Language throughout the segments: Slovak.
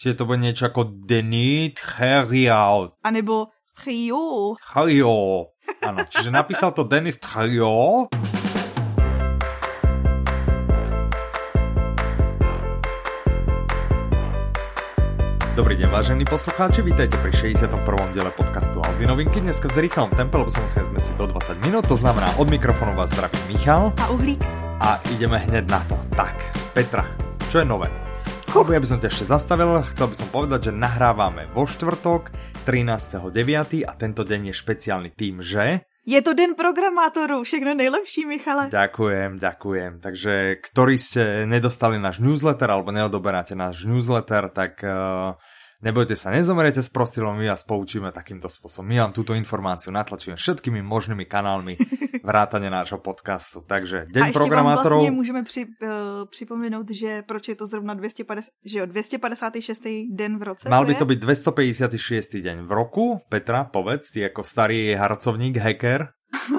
Čiže to bude niečo ako Denis Thériault. A nebo Thériault. Thériault. Áno, čiže napísal to Denis Thériault. Dobrý deň, vážení poslucháči, vítajte pri 61. diele podcastu Audi Novinky. Dneska v zrýchlom tempe, lebo sa musíme zmestiť do 20 minút, to znamená od mikrofónu vás zdraví Michal. A Uhlík. A ideme hneď na to. Tak, Petra, čo je nové? Ja by som ťa ešte zastavil, chcel by som povedať, že nahrávame vo štvrtok 13.9. a tento deň je špeciálny tým, že... Je to den programátorů, všechno nejlepší, Michale. Ďakujem. Takže, ktorí ste nedostali náš newsletter alebo neodoberáte náš newsletter, tak nebojte sa, nezomeriete s prostilom, my vás poučíme takýmto spôsobom. My vám túto informáciu natlačíme všetkými možnými kanálmi vrátane nášho podcastu. Takže, deň programátorov. A ešte vám vlastne môžeme připomenout, že proč je to zrovna 256. den v roce. Mal by to byť 256. deň v roku. Petra, povedz, ty ako starý harcovník, hacker.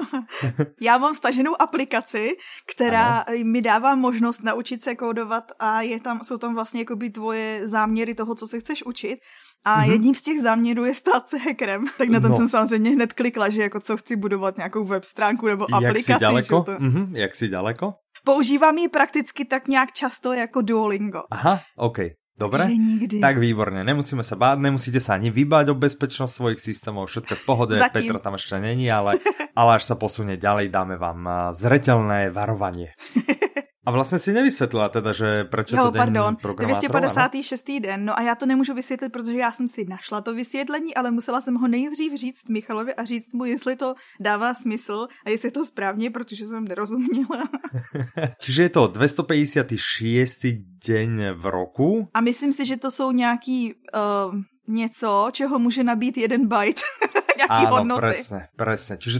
Já mám staženou aplikaci, která mi dává možnost naučit se kódovat a jsou tam vlastně jakoby tvoje záměry toho, co se chceš učit. A jedním z těch záměrů je stát se hackerem. Tak na ten jsem samozřejmě hned klikla, že jako co chci budovat nějakou web stránku nebo aplikaci. Jak jsi daleko? Jak jsi daleko? Používám ji prakticky tak nějak často jako Duolingo. Aha, OK. Dobre? Tak výborne, nemusíme sa báť, nemusíte sa ani vybáť o bezpečnosť svojich systémov, všetko v pohode, Petra tam ešte není, ale až sa posunie ďalej, dáme vám zreteľné varovanie. A vlastně si nevysvětlila teda, že prečo to den programátorů, 256. den, no a já to nemůžu vysvětlit, protože já jsem si našla to vysvětlení, ale musela jsem ho nejdřív říct Michalovi a říct mu, jestli to dává smysl a jestli je to správně, protože jsem nerozuměla. Čiže je to 256. deň v roku? A myslím si, že to jsou nějaký něco, čeho může nabít 1 byte. Áno, presne. Čiže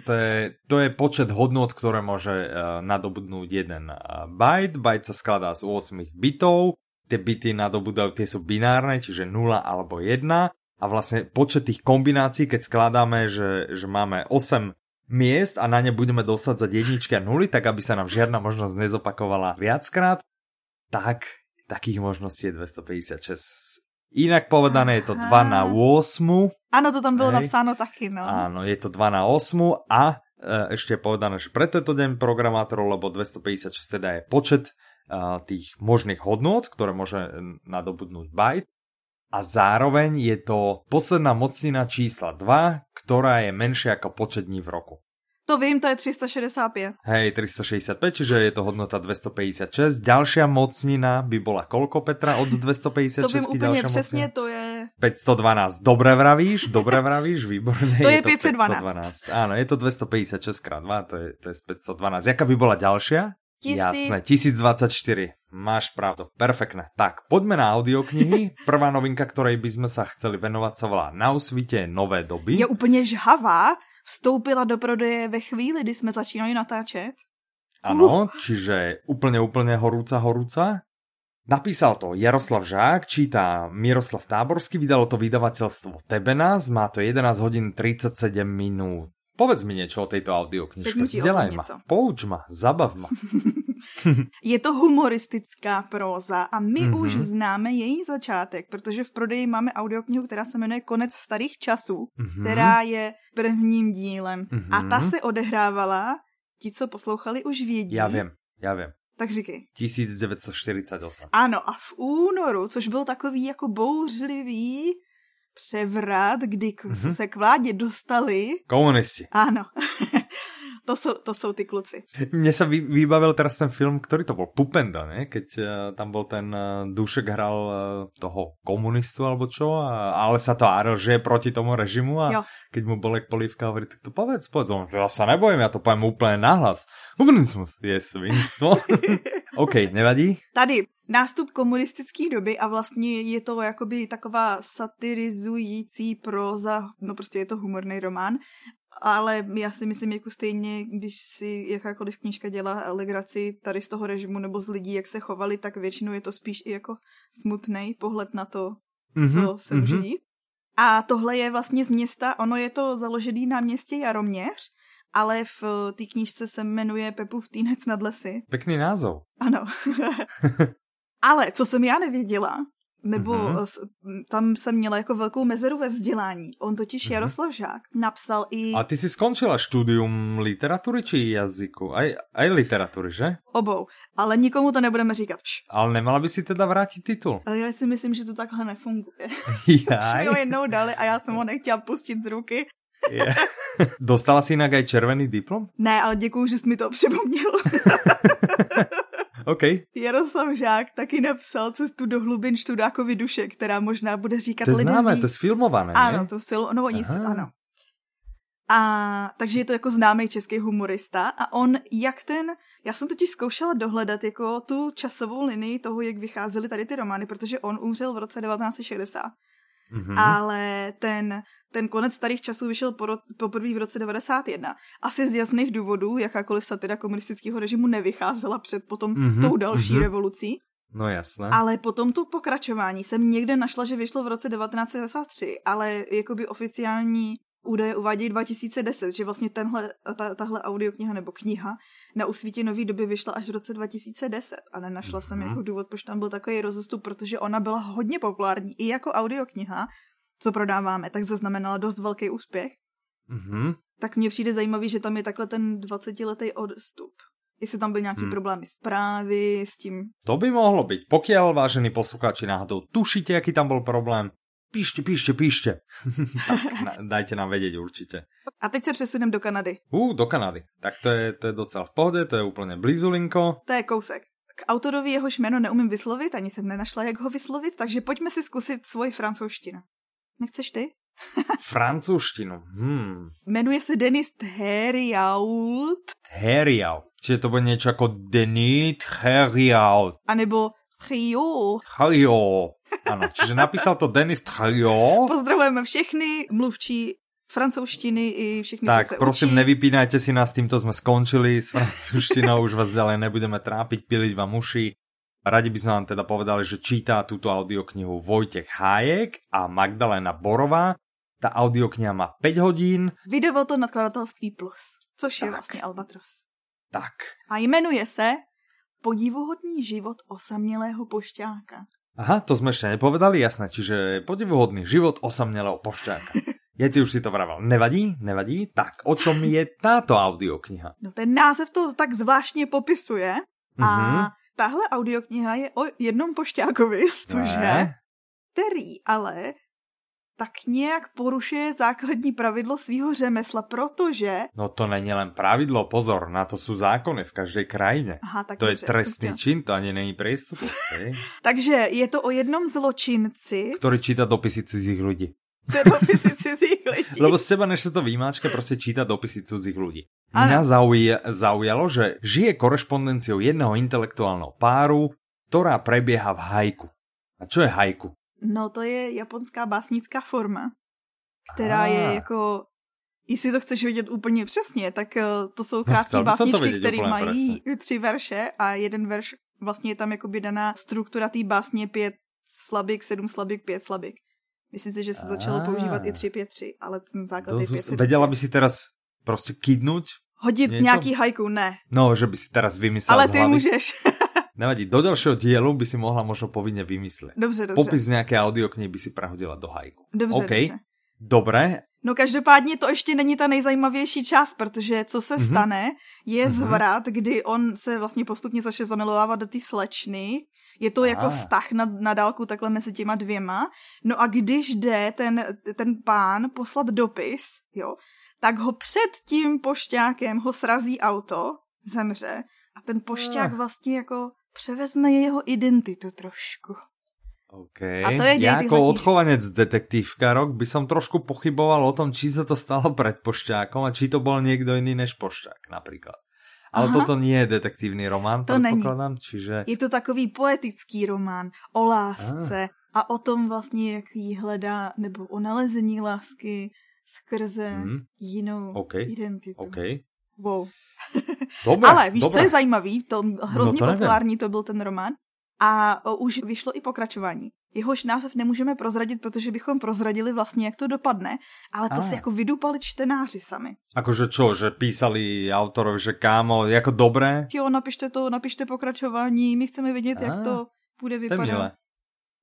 to je počet hodnôt, ktoré môže nadobudnúť 1 byte. Byte sa skladá z 8 bitov. Tie bity nadobúdajú, tie sú binárne, čiže 0 alebo 1. A vlastne počet tých kombinácií, keď skladáme, že máme 8 miest a na ne budeme dosádzať jedničky a nuly, tak aby sa nám žiadna možnosť nezopakovala viackrát, tak takých možností je 256. Inak povedané je to 2 na 8. Áno, to tam bolo napsáno taky, no. Áno, je to 2 na 8 a ešte je povedané, že pre tento deň programátorov, lebo 256 teda je počet tých možných hodnôt, ktoré môže nadobudnúť byte. A zároveň je to posledná mocnina čísla 2, ktorá je menšia ako počet dní v roku. To vím, to je 365. Hej, 365, čiže je to hodnota 256. Ďalšia mocnina by bola koľko, Petra, od 256? To vím úplne přesne, to je... 512. Dobre vravíš, výborné. To je 512. Áno, je to 256 x 2, to je 512. Jaká by bola ďalšia? Jasné, 1024. Máš pravdu, perfektné. Tak, poďme na audioknihy. Prvá novinka, ktorej by sme sa chceli venovať, sa volá Na usvite nové doby. Je úplne žhavá. Vstoupila do prodeje ve chvíli, kdy jsme začínali natáčet. Ano, čiže úplne horúca. Napísal to Jaroslav Žák, číta Miroslav Táborský, vydalo to vydavateľstvo Tebenas, má to 11 hodín 37 minút. Povedz mi niečo o tejto audioknižke, vzdelaj ma, pouč ma, zabav ma. Je to humoristická próza a my už známe její začátek, protože v prodeji máme audioknihu, která se jmenuje Konec starých časů, která je prvním dílem. A ta se odehrávala, ti, co poslouchali, už vědí. Já vím. Tak říkej. 1948. Ano, a v únoru, což byl takový jako bouřlivý převrat, kdy se k vládě dostali... Komunisti. Áno. To sú tí kluci. Mne sa vybavil teraz ten film, ktorý to bol, Pupenda, ne? Keď tam bol ten Dušek hral toho komunistu alebo čo, ale sa to áril, že je proti tomu režimu a keď mu Bolek Polívka hovorí, tak to povedz, on, ja sa nebojím, ja to poviem úplne nahlas. Komunizmus je svinstvo. OK, nevadí? Tady nástup komunistické doby a vlastně je to jakoby taková satirizující próza, no prostě je to humorný román, ale já si myslím, jako stejně, když si jakákoliv knížka dělá legraci tady z toho režimu nebo z lidí, jak se chovali, tak většinou je to spíš i jako smutný pohled na to, co se může dít. A tohle je vlastně z města, ono je to založený na městě Jaroměř, ale v té knížce se jmenuje Pepův týnec nad lesy. Pekný názov. Ano. Ale co jsem já nevěděla, nebo tam jsem měla jako velkou mezeru ve vzdělání. On totiž Jaroslav Žák napsal i... A ty si skončila štúdium literatury či jazyku? Aj literatury, že? Obou, ale nikomu to nebudeme říkat. Ale nemala by si teda vrátit titul? Ale já si myslím, že to takhle nefunguje. Jaj. Už mi ho jednou dali a já jsem ho nechtěla pustit z ruky. Yeah. Dostala si inak aj červený diplom? Ne, ale děkuju, že jsi mi to připomněl. OK. Jaroslav Žák taky napsal Cestu do hlubin Študákovi duše, která možná bude říkat lidem. To je známé, to je sfilmované, ano, to ano. A takže je to jako známý český humorista a on já jsem totiž zkoušela dohledat jako tu časovou linii toho, jak vycházely tady ty romány, protože on umřel v roce 1960. Ale ten konec starých časů vyšel poprvé v roce 91. Asi z jasných důvodů, jakákoliv satira komunistického režimu nevycházela před potom tou další revolucí. No jasné. Ale potom to pokračování jsem někde našla, že vyšlo v roce 1993, ale jakoby oficiální údaje uvádějí 2010, že vlastně tahle audiokniha nebo kniha na Usvítě nový doby vyšla až v roce 2010 a nenašla jsem jako důvod, proč tam byl takový rozestup, protože ona byla hodně populární i jako audiokniha, co prodáváme, tak zaznamenala dost velký úspěch. Tak mně přijde zajímavý, že tam je takhle ten 20letý odstup. Jestli tam byly nějaký problémy s právy, s tím... To by mohlo byť. Pokiaľ, vážení poslucháči, náhodou tušíte, aký tam bol problém, píšte. Tak, dajte nám vedieť určite. A teď se přesunem do Kanady. Do Kanady. Tak to je docela v pohode, to je úplne blizulinko. To je kousek. K autorovi jehož jméno neumím vyslovit, ani jsem nenašla, jak ho vyslovit, takže pojďme si zkusit svoji francouzštinu. Nechceš ty? Francúzštinu. Jmenuje se Denis Thériault. Thériault. Čiže to bude niečo ako Denis Thériault. A nebo Thériault. Áno, čiže napísal to Denis Thériault. Pozdravujeme všechny mluvčí francouzštiny i všechny, tak, co se prosím, učí. nevypínajte si nás, týmto sme skončili s francúzštinou, už vás ďalej nebudeme trápiť, piliť vám uši. Radi by sme vám teda povedali, že čítá túto audioknihu Vojtech Hájek a Magdalena Borová. Tá audiokniha má 5 hodín. Vydalo to nakladatelství Plus, což je vlastně Albatros. Tak. A jmenuje se Podivuhodný život osamělého pošťáka. Aha, to sme ešte nepovedali, jasné, čiže podivuhodný život osamělého pošťáka. Ty už si to vravel. Nevadí? Tak, o čom je táto audiokniha? No ten název to tak zvláštně popisuje a tahle audiokniha je o jednom pošťákovi, což je, který ale tak nějak porušuje základní pravidlo svýho řemesla, protože... No to není len pravidlo, pozor, na to sú zákony v každej krajine. Aha, tak to je trestný čin, to ani není priestupok. Takže je to o jednom zločinci, ktorý číta dopisy cudzích ľudí. Dopisy cudzích ľudí. Lebo z teba, než sa to vymáčka, proste číta dopisy cudzích ľudí. Mňa zaujalo, že žije korešpondenciou jedného intelektuálneho páru, ktorá prebieha v haiku. A čo je haiku? No to je japonská básnická forma, která je jako, jestli to chceš vidět úplně přesně, tak to jsou krátké básničky, které mají 3 verše a jeden verš, vlastně je tam jakoby daná struktura té básně 5 slabik, 7 slabik, 5 slabik. Myslím si, že se začalo používat i 3-5-3, ale ten základ je 5-7. Vedela by si teraz prostě kydnúť? Hodit niečo? Nějaký haiku, ne. No, že by si teraz vymyslel ale ty můžeš. Nevadí, do ďalšieho dielu by si mohla možno povinne vymysleť. Dobře. Popis nejaké audioknihy by si prehodila do haiku. Dobře. Dobre. No každopádně to ještě není ta nejzajímavější část, protože co se stane, je zvrat, kdy on se vlastně postupně začne zamilovávat do té slečny. Je to jako vztah na dálku takhle mezi těma dvěma. No a když jde ten pán poslat dopis, jo, tak ho před tím pošťákem ho srazí auto, zemře a ten pošťák vlastně jako převezme jeho identitu trošku. OK. Ja ako odchovanec detektívkarok by som trošku pochyboval o tom, či sa to stalo pred pošťákom a či to bol niekto iný než pošťák napríklad. Ale toto nie je detektívny román, to predpokladám, čiže... Je to takový poetický román o lásce a o tom vlastně, jak jí hledá, nebo o nalezení lásky skrze jinou identitu. Okay. Wow. Dobre, ale víš, co je zajímavý? To hrozně populární to byl ten román. A už vyšlo i pokračování. Jehož název nemůžeme prozradit, protože bychom prozradili vlastně, jak to dopadne, ale to si jako vydupali čtenáři sami. Akože čo, že písali autorovi, že kámo, jako dobré? Jo, napište pokračování, my chceme vědět, jak to bude vypadat. To je milé.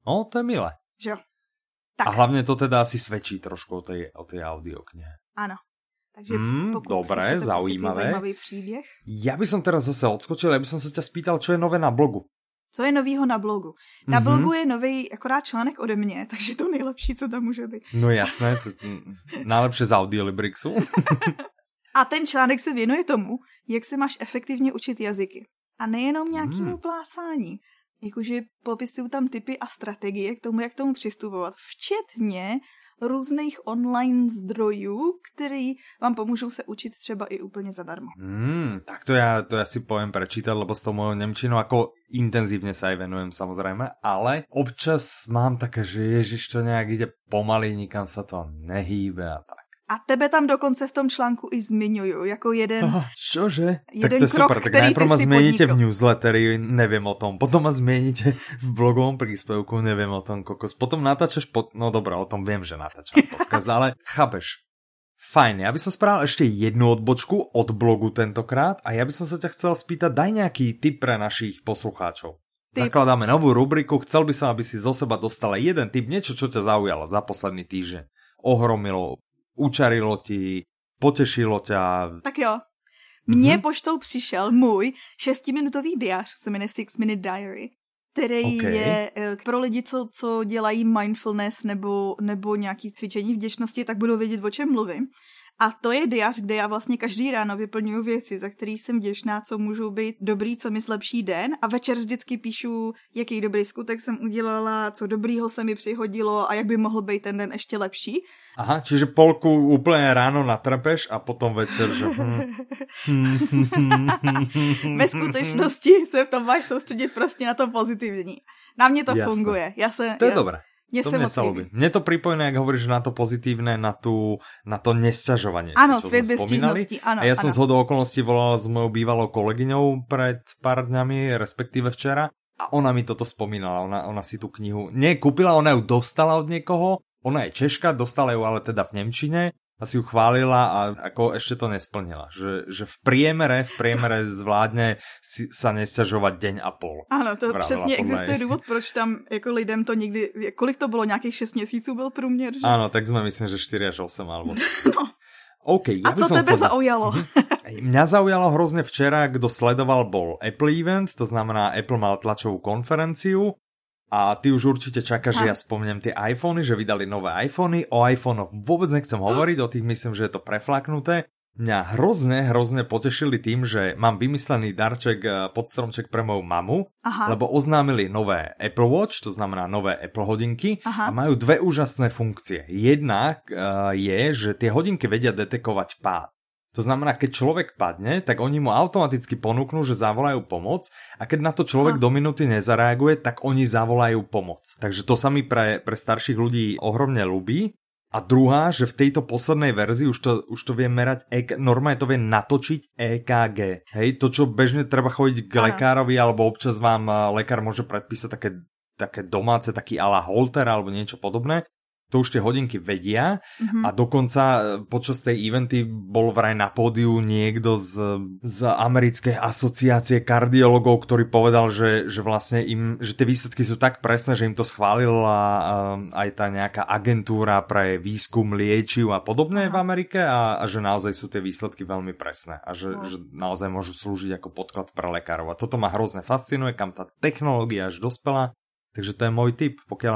No, to je milé. Že jo. Tak. A hlavne to teda asi svedčí trošku o tej audioknihe. Áno. Takže dobre, zaujímavé. Příběh. Ja by som teraz zase odskočil, ja by som sa ťa spýtal, čo je nové na blogu. Co je novýho na blogu? Na blogu je nový akorát článek ode mě, takže to nejlepší, co tam může být. No jasné, najlepšie z Audiolibrixu. A ten článek se věnuje tomu, jak se máš efektivně učit jazyky. A nejenom nějakému plácání. Jakože popisují tam tipy a strategie k tomu, jak tomu přistupovat. Včetně různých online zdrojů, který vám pomůžou se učit třeba i úplně zadarmo. Tak to ja si poviem prečítať, lebo s tou mojou nemčinou ako intenzívne sa aj venujem samozrejme, ale občas mám také, že ježiš, to nejak ide pomaly, nikam sa to nehýbe a tak. A tebe tam dokonce v tom článku i zmiňujú, jako jeden... Čože? Jeden tak to je krok, super, tak najprv ma zmieníte v newsletteri, neviem o tom, potom ma zmieníte v blogovom príspevku, neviem o tom, kokos. Potom natáčaš no dobré, o tom viem, že natáčam podcast, ale chápeš. Fajn, ja by som spravil ešte jednu odbočku od blogu tentokrát a ja by som sa ťa chcel spýtať, daj nejaký tip pre našich poslucháčov. Zakladáme novú rubriku, chcel by som, aby si zo seba dostala jeden tip, niečo, čo ťa zaujalo za posledný týždeň. Ohromilo, učarilo ti, potešilo ťa. Tak jo. Mně poštou přišel můj 6-minutový diář, se jmenuje 6-Minute Diary, který je pro lidi, co dělají mindfulness nebo nějaký cvičení vděčnosti, tak budou vědět, o čem mluvím. A to je diář, kde já vlastně každý ráno vyplňuji věci, za který jsem vděčná, co můžou být dobrý, co mi zlepší den. A večer vždycky píšu, jaký dobrý skutek jsem udělala, co dobrýho se mi přihodilo a jak by mohl být ten den ještě lepší. Aha, čiže polku úplně ráno natrpeš a potom večer, že... Ve skutečnosti se v tom máš soustředit prostě na to pozitivní. Na mě to funguje. To je dobré. To mne sa ľúbi. Mne to pripomína, ak hovoríš na to pozitívne, na to nesťažovanie. Áno, svet bez stížnosti. A ja som zhodou okolností volala s mojou bývalou kolegyňou pred pár dňami, respektíve včera, a ona mi toto spomínala. Ona si tú knihu nekúpila, ona ju dostala od niekoho, ona je Češka, dostala ju ale teda v nemčine, a si ju chválila a ako ešte to nesplnila. Že v priemere zvládne sa nesťažovať deň a pol. Áno, to přesně existuje důvod, proč tam jako lidem to nikdy... Kolik to bylo? Nějakých 6 měsíců byl průměr? Že? Áno, tak sme myslím, že 4 až 8 alebo... No. Okay, a co tebe zaujalo? Mňa zaujalo hrozne včera, kto sledoval, bol Apple event, to znamená Apple mal tlačovú konferenciu. A ty už určite čakáš, že ja spomnem tie iPhony, že vydali nové iPhony. O iPhonech vôbec nechcem hovoriť, o tých myslím, že je to preflaknuté. Mňa hrozne potešili tým, že mám vymyslený darček pod stromček pre moju mamu, lebo oznámili nové Apple Watch, to znamená nové Apple hodinky a majú dve úžasné funkcie. Jedna je, že tie hodinky vedia detekovať pád. To znamená, keď človek padne, tak oni mu automaticky ponúknú, že zavolajú pomoc a keď na to človek do minúty nezareaguje, tak oni zavolajú pomoc. Takže to sa mi pre starších ľudí ohromne ľúbi. A druhá, že v tejto poslednej verzii už to vie merať, normálne to vie natočiť EKG. Hej, to čo bežne treba chodiť k lekárovi, alebo občas vám lekár môže predpísať také domáce, taký à la holter alebo niečo podobné. To už tie hodinky vedia a dokonca počas tej eventy bol vraj na pódiu niekto z americkej asociácie kardiologov, ktorý povedal, že vlastne že tie výsledky sú tak presné, že im to schválila aj tá nejaká agentúra pre výskum liečiv a podobné v Amerike a že naozaj sú tie výsledky veľmi presné a že naozaj môžu slúžiť ako podklad pre lekárov. A toto ma hrozne fascinuje, kam tá technológia až dospela. Takže to je môj tip, pokiaľ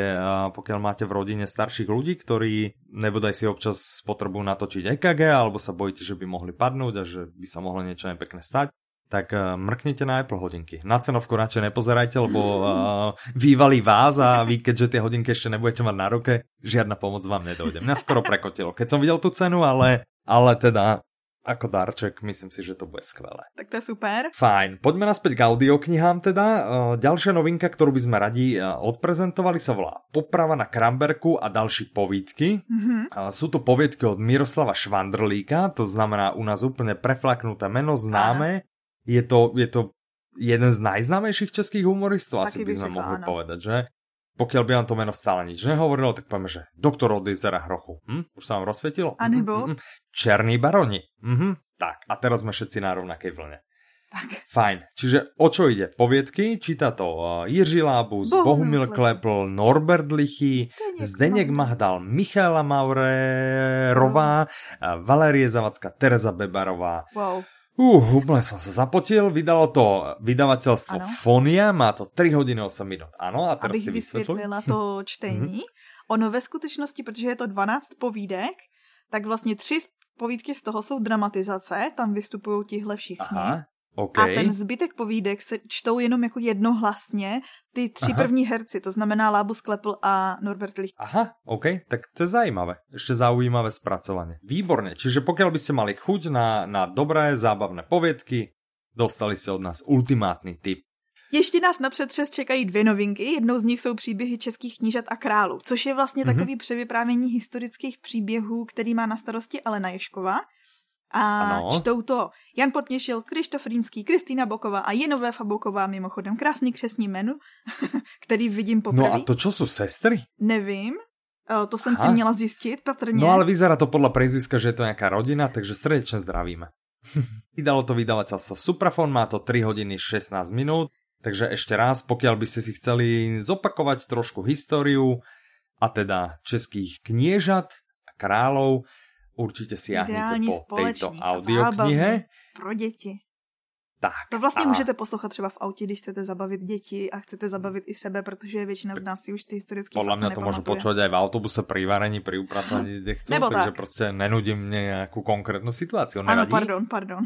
máte v rodine starších ľudí, ktorí nebodaj si občas potrebujú natočiť EKG, alebo sa bojíte, že by mohli padnúť a že by sa mohlo niečo nepekné stať, tak mrknite na Apple hodinky. Na cenovku radšej nepozerajte, lebo vývalí vás a vy, keďže tie hodinky ešte nebudete mať na ruke, žiadna pomoc vám nedojde. Mňa skoro prekotilo, keď som videl tú cenu, ale teda... Ako darček, myslím si, že to bude skvelé. Tak to je super. Fajn, poďme naspäť k audioknihám teda. Ďalšia novinka, ktorú by sme radi odprezentovali, sa volá Poprava na Kramberku a ďalší povídky. Sú to poviedky od Miroslava Švandrlíka, to znamená u nás úplne preflaknuté meno, známe. Je to jeden z najznámejších českých humoristov, asi by sme mohli povedať, že? Pokiaľ by vám to meno stále nič nehovorilo, tak povieme, že doktor od jezera Hrochu. Už sa vám rozsvietilo? A nebo? Černí baroni. Tak, a teraz sme všetci na rovnakej vlne. Tak. Fajn. Čiže o čo ide? Poviedky? Číta to Jiří Lábus, Bohumil Klepl, Norbert Lichy, Zdeněk Mahdal, Michaela Maurerová, Valérie Zavacká, Tereza Bebarová. Wow. Úplne som sa zapotil, vydalo to vydavateľstvo Fonia, má to 3 hodiny 8 minút. Áno, a teraz abych vysvětlila to čtení. Ono ve skutečnosti, protože je to 12 povídek, tak vlastně 3 povídky z toho jsou dramatizace, tam vystupují tihle všichni. Aha, okay. A ten zbytek povídek se čtou jenom jako jednohlasně ty 3 první herci, to znamená Lábus, Klepl a Norbert Lich. Aha, OK, tak to je zaujímavé. Ešte zaujímavé spracovanie. Výborne, čiže pokiaľ by ste mali chuť na dobré, zábavné poviedky, dostali ste od nás ultimátny tip. Ještě nás na předřez čekají 2 novinky, jednou z nich jsou příběhy českých knížat a králů, což je vlastně takový převyprávění historických příběhů, který má na starosti Alena Ježková. A čtou to Jan Podměšil, Krištof Rýnský, Kristýna Boková a Jenové Fabouková, mimochodem krásný křestní jméno, který vidím poprvé. No a to čo sú sestry? Nevím, to jsem si měla zjistit patrně. No ale vyzerá to podľa priezviska, že je to nejaká rodina, takže srdečne zdravíme. Vydalo to vydavateľstvo Suprafon, má to 3 hodiny 16 minút, takže ešte raz, pokiaľ by ste si chceli zopakovať trošku históriu, a teda českých kniežat a kráľov, určite siahnite po tejto audioknihe. Pro děti. Tak. To vlastně můžete poslouchat třeba v autě, když chcete zabavit děti a chcete zabavit i sebe, protože většina z nás si už ty historické fakty nepamatuje. Podľa mňa to môžu počúvať aj v autobuse pri varení, pri upratovaní, kde chcú, takže prostě nenudím nejakú konkrétnu situáciu. Ano, pardon.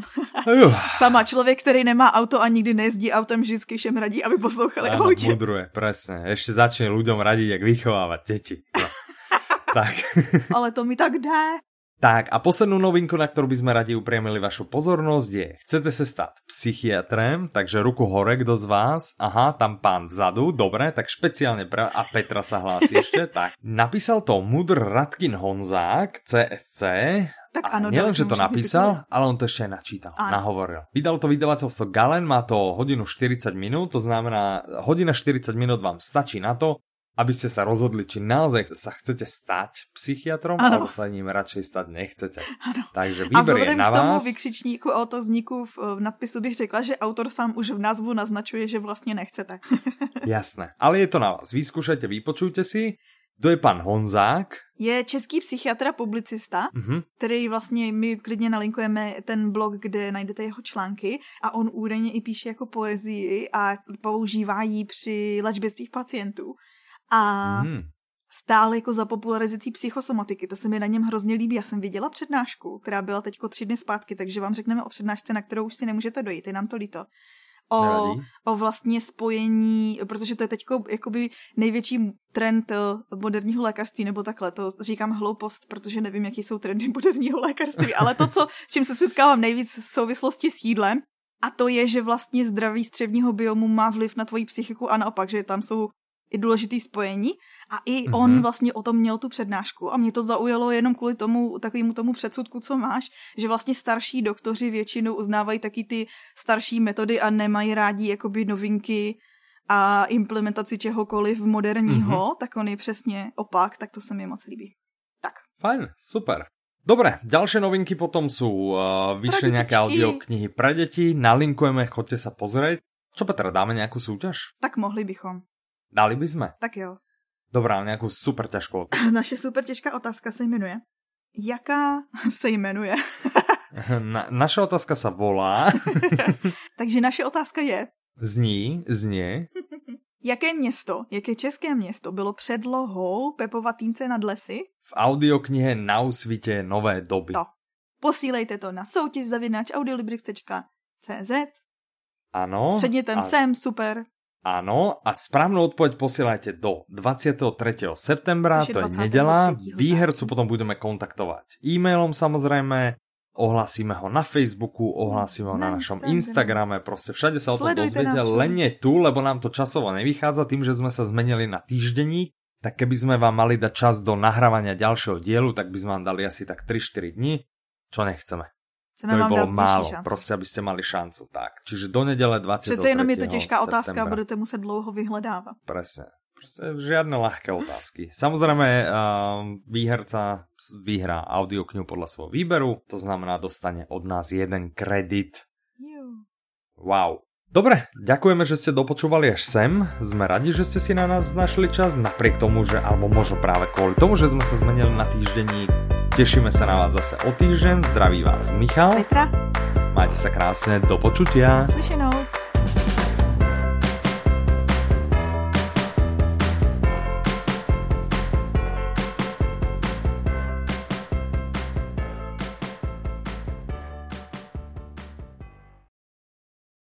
Sama člověk, který nemá auto a nikdy nejezdí autem, vždycky všem radí, aby poslouchali v autě. Áno, mudruje, presne. Ešte začne ľuďom radiť, jak vychovávať deti. No. Tak. Ale to mi tak jde. Tak a poslednú novinku, na ktorú by sme radi upriamili vašu pozornosť je, chcete sa stať psychiatrem, takže ruku hore, kto z vás, aha, tam pán vzadu, dobre, tak špeciálne a Petra sa hlási ešte, tak. Napísal to Mudr Radkin Honzák, CSC, tak a nielen, že to napísal, ale on to ešte aj načítal, nahovoril. Vydal to vydavateľstvo Galen, má to hodinu 40 minút, to znamená, hodina 40 minút vám stačí na to, aby ste sa rozhodli, či naozaj sa chcete stať psychiatrom, alebo sa ním radšej stať nechcete. Ano. Takže výber je na vás. A vzhledem k tomu vykřičníku a otazníku v nadpisu bych řekla, že autor sám už v názvu naznačuje, že vlastně nechcete. Jasné, ale je to na vás. Vyskúšajte, vypočujte si. Kto je pán Honzák? Je český psychiatr a publicista, který vlastně my klidně nalinkujeme ten blog, kde najdete jeho články a on údajně i píše jako poezii a používá ji při léčbě svých pacientů. A stále jako za popularizací psychosomatiky. To se mi na něm hrozně líbí. Já jsem viděla přednášku, která byla teďko 3 dny zpátky, takže vám řekneme o přednášce, na kterou už si nemůžete dojít, je nám to líto. O vlastně spojení, protože to je teďko jakoby největší trend moderního lékařství, nebo takhle, to říkám hloupost, protože nevím, jaký jsou trendy moderního lékařství, ale to, s čím se setkávám nejvíc v souvislosti s jídlem, a to je, že vlastně zdraví střevního biomu má vliv na tvoji psychiku a naopak, že tam jsou i důležitý spojení a i on vlastně o tom měl tu přednášku a mě to zaujalo jenom kvůli tomu takovému tomu předsudku, co máš, že vlastně starší doktoři většinou uznávají taky ty starší metody a nemají rádi jakoby novinky a implementaci čehokoliv moderního, tak on je přesně opak, tak to se mi moc líbí. Tak. Fajn, super. Dobre, ďalšie novinky potom sú vyššie nejaké audioknihy pre deti, nalinkujeme, choďte sa pozrieť. Čo Petra, dáme nejakú súťaž? Tak mohli bychom. Dali by sme? Tak jo. Dobrá, nejakú super ťažkú otázku. Naše super těžká otázka se jmenuje. Jaká se jmenuje? Naša otázka sa volá. Takže naše otázka je. Znie. Jaké české město bylo předlohou Pepova Týnce nad lesy? V audioknihe Na úsvite nové doby. To. Posílejte to na soutěž@audiolibrix.cz. Áno. S předmětem Jsem super. Áno, a správnu odpoveď posielajte do 23. septembra, to je nedeľa. Výhercu potom budeme kontaktovať e-mailom samozrejme, ohlásime ho na Facebooku, ohlásime ho na našom Instagrame, proste všade sa o tom dozviete, len nie tu, lebo nám to časovo nevychádza tým, že sme sa zmenili na týždenník, tak keby sme vám mali dať čas do nahrávania ďalšieho dielu, tak by sme vám dali asi tak 3-4 dní, čo nechceme. To by bolo málo, proste, aby ste mali šancu. Tak. Čiže do nedele 23. Přece jenom je to těžká otázka a budete muset dlouho vyhledávat. Presne. Proste žiadne ľahké otázky. Samozrejme, výherca vyhrá audioknihu podľa svojho výberu, to znamená, dostane od nás 1 kredit Wow. Dobre, ďakujeme, že ste dopočúvali až sem. Sme radi, že ste si na nás našli čas, napriek tomu, že, alebo možno práve kvôli tomu, že sme sa zmenili na týždenník. Tešíme sa na vás zase o týždeň. Zdraví vás Michal. Petra. Majte sa krásne, do počutia. Slyšenou.